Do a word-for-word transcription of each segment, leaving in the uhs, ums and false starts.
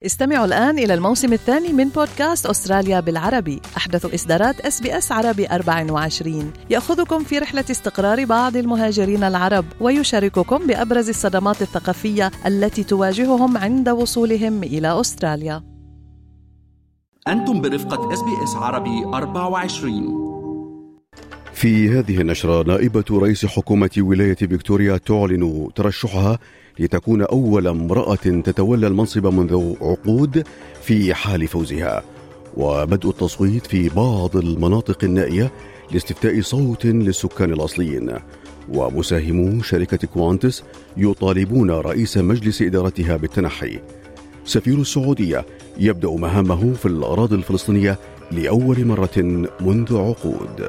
استمعوا الآن إلى الموسم الثاني من بودكاست أستراليا بالعربي، أحدث إصدارات إس بي إس عربي أربعة وعشرين، يأخذكم في رحلة استقرار بعض المهاجرين العرب ويشارككم بأبرز الصدمات الثقافية التي تواجههم عند وصولهم إلى أستراليا. أنتم برفقة إس بي إس عربي أربعة وعشرين. في هذه النشرة، نائبة رئيس حكومة ولاية فيكتوريا تعلن ترشحها لتكون أول امرأة تتولى المنصب منذ عقود في حال فوزها، وبدء التصويت في بعض المناطق النائية لاستفتاء صوت للسكان الأصليين. ومساهمو شركة كوانتس يطالبون رئيس مجلس إدارتها بالتنحي. سفير السعودية يبدأ مهامه في الأراضي الفلسطينية لأول مرة منذ عقود.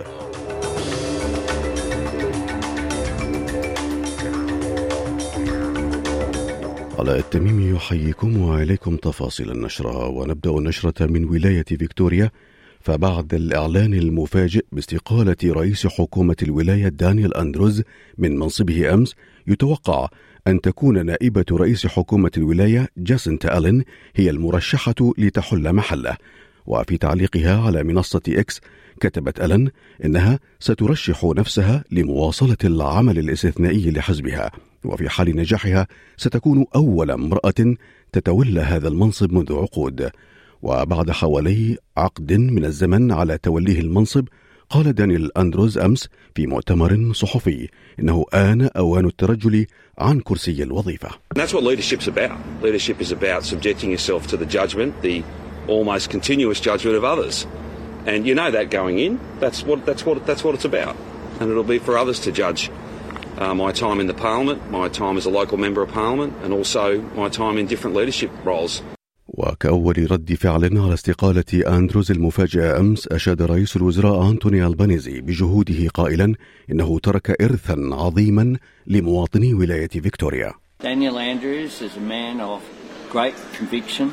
علاء التميمي يحييكم وإليكم تفاصيل النشرة، ونبدأ النشرة من ولاية فيكتوريا. فبعد الإعلان المفاجئ باستقالة رئيس حكومة الولاية دانيال أندروز من منصبه أمس، يتوقع أن تكون نائبة رئيس حكومة الولاية جاسنتا ألين هي المرشحة لتحل محله. وفي تعليقها على منصة إكس كتبت ألين إنها سترشح نفسها لمواصلة العمل الاستثنائي لحزبها، وفي حال نجاحها ستكون أول امرأة تتولى هذا المنصب منذ عقود. وبعد حوالي عقد من الزمن على توليه المنصب، قال دانيال أندروز أمس في مؤتمر صحفي إنه آن أوان الترجل عن كرسي الوظيفة. That's what leadership's about. Leadership is about subjecting yourself to the judgment, the almost continuous judgment of others. And you know that going in. That's what that's what that's what it's about. And it'll be for others to judge uh, my time in the parliament, my time as a local member of parliament, and also my time in different leadership roles. وكأول رد فعل على استقالة أندروز المفاجئة أمس، أشاد رئيس الوزراء أنتوني ألبانيزي بجهوده قائلا إنه ترك إرثا عظيما لمواطني ولاية فيكتوريا. Daniel Andrews is a man of great conviction,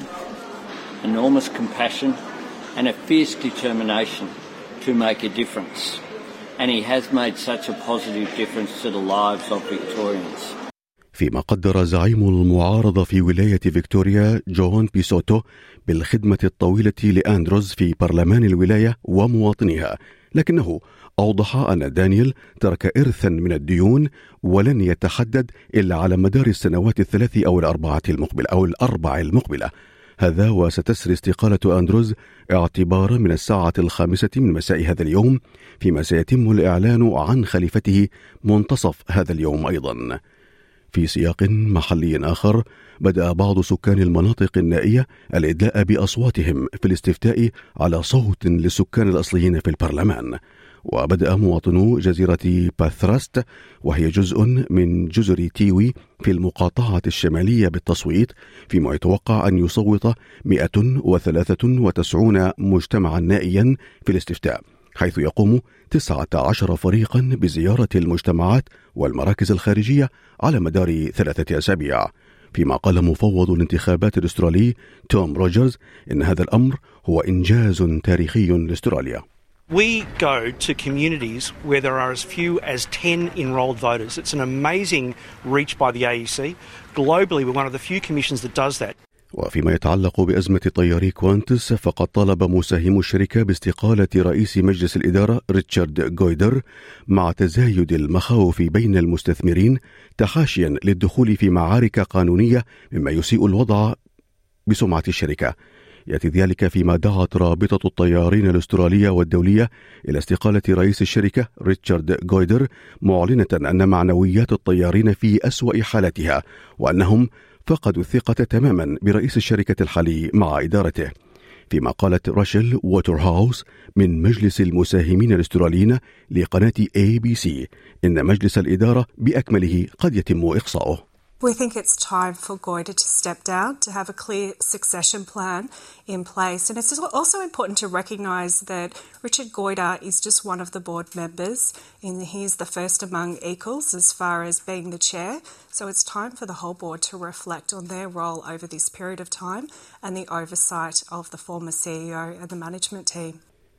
enormous compassion and a fierce determination to make a difference. And he has made such a positive difference to the lives of Victorians. فيما قدر زعيم المعارضة في ولاية فيكتوريا جون بيسوتو بالخدمة الطويلة لأندروز في برلمان الولاية ومواطنيها، لكنه أوضح أن دانيال ترك إرثا من الديون ولن يتحدد إلا على مدار السنوات الثلاث أو الأربعة المقبلة أو الأربع المقبلة. هذا وستسري استقالة أندروز اعتبارا من الساعة الخامسة من مساء هذا اليوم، فيما سيتم الإعلان عن خليفته منتصف هذا اليوم أيضا. في سياق محلي آخر، بدأ بعض سكان المناطق النائية الإدلاء بأصواتهم في الاستفتاء على صوت للسكان الأصليين في البرلمان. وبدأ مواطنو جزيرة باثراست، وهي جزء من جزر تيوي في المقاطعة الشمالية، بالتصويت، فيما يتوقع أن يصوت مئة وثلاثة وتسعين مجتمعا نائيا في الاستفتاء، حيث يقوم تسعة عشر فريقا بزيارة المجتمعات والمراكز الخارجية على مدار ثلاثة أسابيع. فيما قال مفوض الانتخابات الأسترالي توم روجرز إن هذا الأمر هو إنجاز تاريخي لأستراليا. We go to communities where there are as few as ten enrolled voters. It's an amazing reach by the A E C. Globally, we're one of the few commissions that does that. وفيما يتعلق بأزمة طياري كوانتس، فقد طالب مساهمو الشركة باستقالة رئيس مجلس الإدارة ريتشارد غويدر مع تزايد المخاوف بين المستثمرين تحاشيا للدخول في معارك قانونية مما يسيء الوضع بسمعة الشركة. يأتي ذلك فيما دعت رابطة الطيارين الأسترالية والدولية إلى استقالة رئيس الشركة ريتشارد غويدر، معلنة أن معنويات الطيارين في أسوأ حالتها، وأنهم فقدوا الثقة تماما برئيس الشركة الحالي مع إدارته. فيما قالت راشيل ووترهاوس من مجلس المساهمين الأستراليين لقناة إيه بي سي إن مجلس الإدارة بأكمله قد يتم إقصاؤه. We think it's time for Goyder to step down, to have a clear succession plan in place. And it's also important to recognise that Richard Goyder is just one of the board members. And he's the first among equals as far as being the chair. So it's time for the whole board to reflect on their role over this period of time and the oversight of the former C E O and the management team.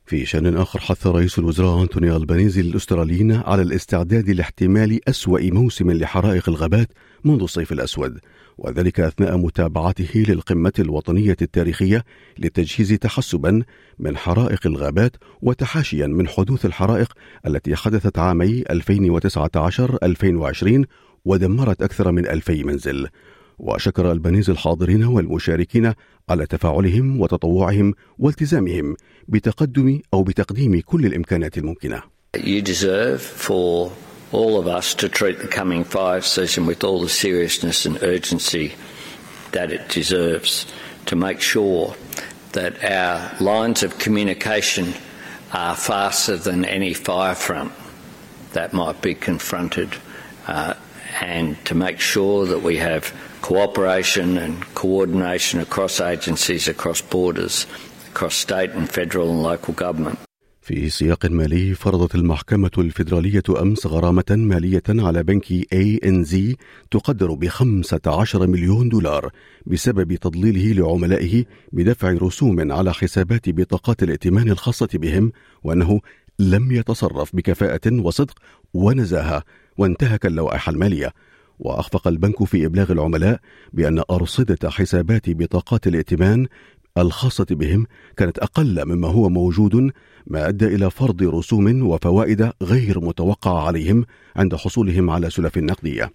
في شأن آخر، حث رئيس الوزراء أنتوني ألبانيزي الأستراليين على الاستعداد لاحتمال أسوأ موسم لحرائق الغابات منذ الصيف الأسود، وذلك أثناء متابعته للقمة الوطنية التاريخية للتجهيز تحسبا من حرائق الغابات وتحاشيا من حدوث الحرائق التي حدثت عامي ألفين وتسعة عشر ألفين وعشرين ودمرت أكثر من ألفي منزل. وشكر ألبانيزي الحاضرين والمشاركين على تفاعلهم وتطوعهم والتزامهم بتقدم أو بتقديم كل الإمكانات الممكنة. You deserve for all of us to treat the coming fire season with all the seriousness and urgency that it deserves, to make sure that our lines of communication are faster than any fire front that might be confronted, uh, and to make sure that we have cooperation and coordination across agencies, across borders, across state and federal and local government. في سياق مالي، فرضت المحكمة الفيدرالية أمس غرامة مالية على بنك إيه إن زي تقدر بخمسة عشر مليون دولار بسبب تضليله لعملائه بدفع رسوم على حسابات بطاقات الائتمان الخاصة بهم، وأنه لم يتصرف بكفاءة وصدق ونزاهة وانتهك اللوائح المالية. وأخفق البنك في إبلاغ العملاء بأن أرصدة حسابات بطاقات الائتمان الخاصة بهم كانت أقل مما هو موجود، ما أدى إلى فرض رسوم وفوائد غير متوقعة عليهم عند حصولهم على سلف نقدية.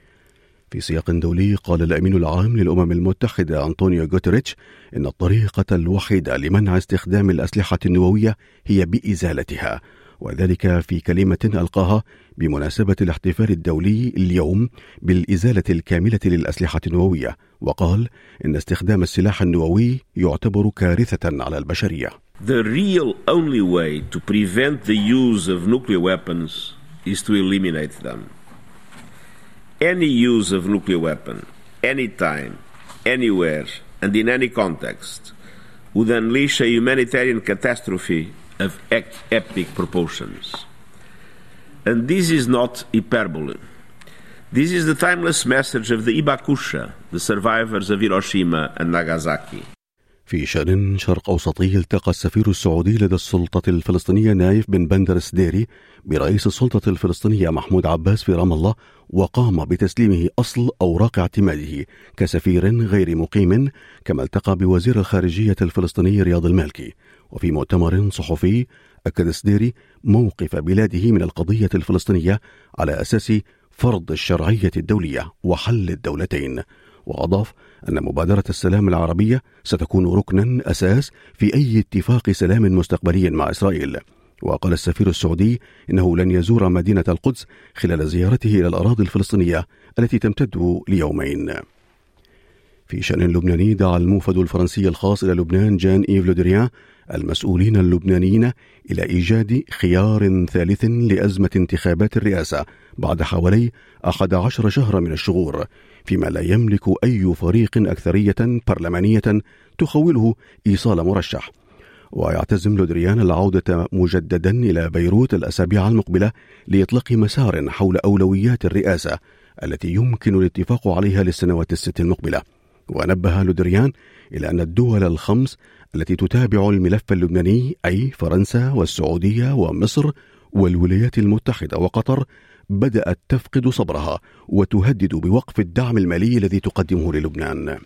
في سياق دولي، قال الأمين العام للأمم المتحدة أنطونيو غوتيريتش إن الطريقة الوحيدة لمنع استخدام الأسلحة النووية هي بإزالتها، وذلك في كلمة ألقاها بمناسبة الاحتفال الدولي اليوم بالإزالة الكاملة للأسلحة النووية، وقال إن استخدام السلاح النووي يعتبر كارثة على البشرية. The real only way to prevent the use of nuclear weapons is to eliminate them. Any use of nuclear weapon, anytime, anywhere, and in any context would unleash a humanitarian catastrophe of epic proportions. And this is not hyperbole. This is the timeless message of the Hibakusha, the survivors of Hiroshima and Nagasaki. في شأن شرق أوسطي، التقى السفير السعودي لدى السلطة الفلسطينية نايف بن بندر سديري برئيس السلطة الفلسطينية محمود عباس في رام الله، وقام بتسليمه أصل أوراق اعتماده كسفير غير مقيم، كما التقى بوزير الخارجية الفلسطيني رياض المالكي. وفي مؤتمر صحفي أكد سديري موقف بلاده من القضية الفلسطينية على أساس فرض الشرعية الدولية وحل الدولتين، وأضاف أن مبادرة السلام العربية ستكون ركنا أساس في أي اتفاق سلام مستقبلي مع إسرائيل. وقال السفير السعودي إنه لن يزور مدينة القدس خلال زيارته إلى الأراضي الفلسطينية التي تمتد ليومين. في شأن لبناني، دعا الموفد الفرنسي الخاص إلى لبنان جان إيف لودريان المسؤولين اللبنانيين إلى إيجاد خيار ثالث لأزمة انتخابات الرئاسة بعد حوالي أحد عشر شهرا من الشغور، فيما لا يملك أي فريق أكثرية برلمانية تخوله إيصال مرشح. ويعتزم لودريان العودة مجددا إلى بيروت الأسابيع المقبلة لإطلاق مسار حول أولويات الرئاسة التي يمكن الاتفاق عليها للسنوات الست المقبلة. ونبه لودريان إلى أن الدول الخمس التي تتابع الملف اللبناني، أي فرنسا والسعودية ومصر والولايات المتحدة وقطر، بدأت تفقد صبرها وتهدد بوقف الدعم المالي الذي تقدمه للبنان.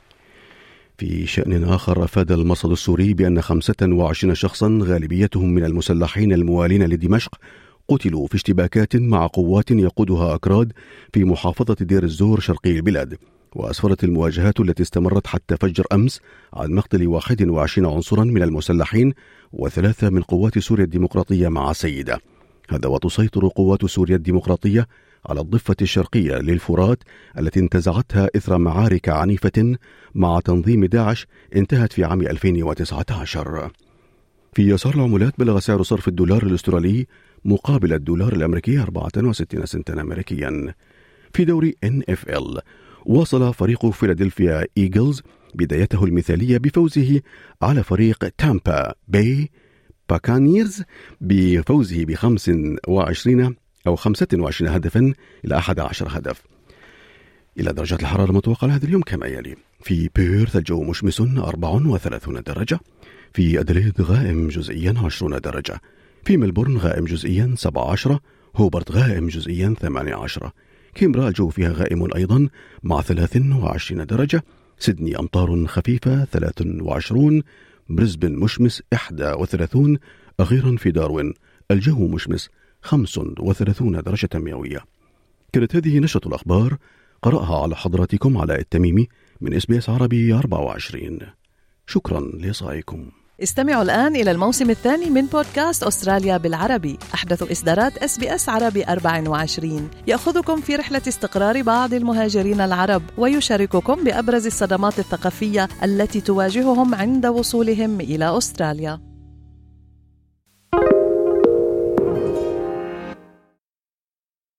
في شأن آخر، أفاد المرصد السوري بأن خمسة وعشرين شخصا غالبيتهم من المسلحين الموالين لدمشق قتلوا في اشتباكات مع قوات يقودها أكراد في محافظة دير الزور شرقي البلاد. وأسفرت المواجهات التي استمرت حتى فجر أمس عن مقتل واحد وعشرين عنصرا من المسلحين وثلاثة من قوات سوريا الديمقراطية مع سيدة. هذا وتسيطر قوات سوريا الديمقراطية على الضفة الشرقية للفرات التي انتزعتها إثر معارك عنيفة مع تنظيم داعش انتهت في عام ألفين وتسعة عشر. في يسار العملات، بلغ سعر صرف الدولار الأسترالي مقابل الدولار الأمريكي أربعة وستين سنتا أمريكيا. في دوري إن إف إل، واصل فريق فيلادلفيا إيجلز بدايته المثالية بفوزه على فريق تامبا باي باكانيرز بفوزه بخمس وعشرين أو خمسة وعشرين هدفا إلى أحد عشر هدف. إلى درجات الحرارة المتوقعة لهذا اليوم كما يلي: في بيرث الجو مشمس أربع وثلاثين درجة، في أدليد غائم جزئيا عشرين درجة، في ملبورن غائم جزئيا سبعة عشر، هوبرت غائم جزئيا ثمانية عشر، كيمبرا الجو فيها غائم أيضا مع ثلاث وعشرين درجة، سيدني أمطار خفيفة ثلاث وعشرون، بريسبن مشمس إحدى وثلاثون، أخيرا في داروين الجو مشمس خمس وثلاثون درجة مئوية. كانت هذه نشرة الأخبار قرأها على حضراتكم علاء التميمي من إس بي إس عربي أربعة وعشرين. شكرا لإصغائكم. استمعوا الآن إلى الموسم الثاني من بودكاست أستراليا بالعربي، أحدث إصدارات إس بي إس عربي أربعة وعشرين، يأخذكم في رحلة استقرار بعض المهاجرين العرب ويشارككم بأبرز الصدمات الثقافية التي تواجههم عند وصولهم إلى أستراليا.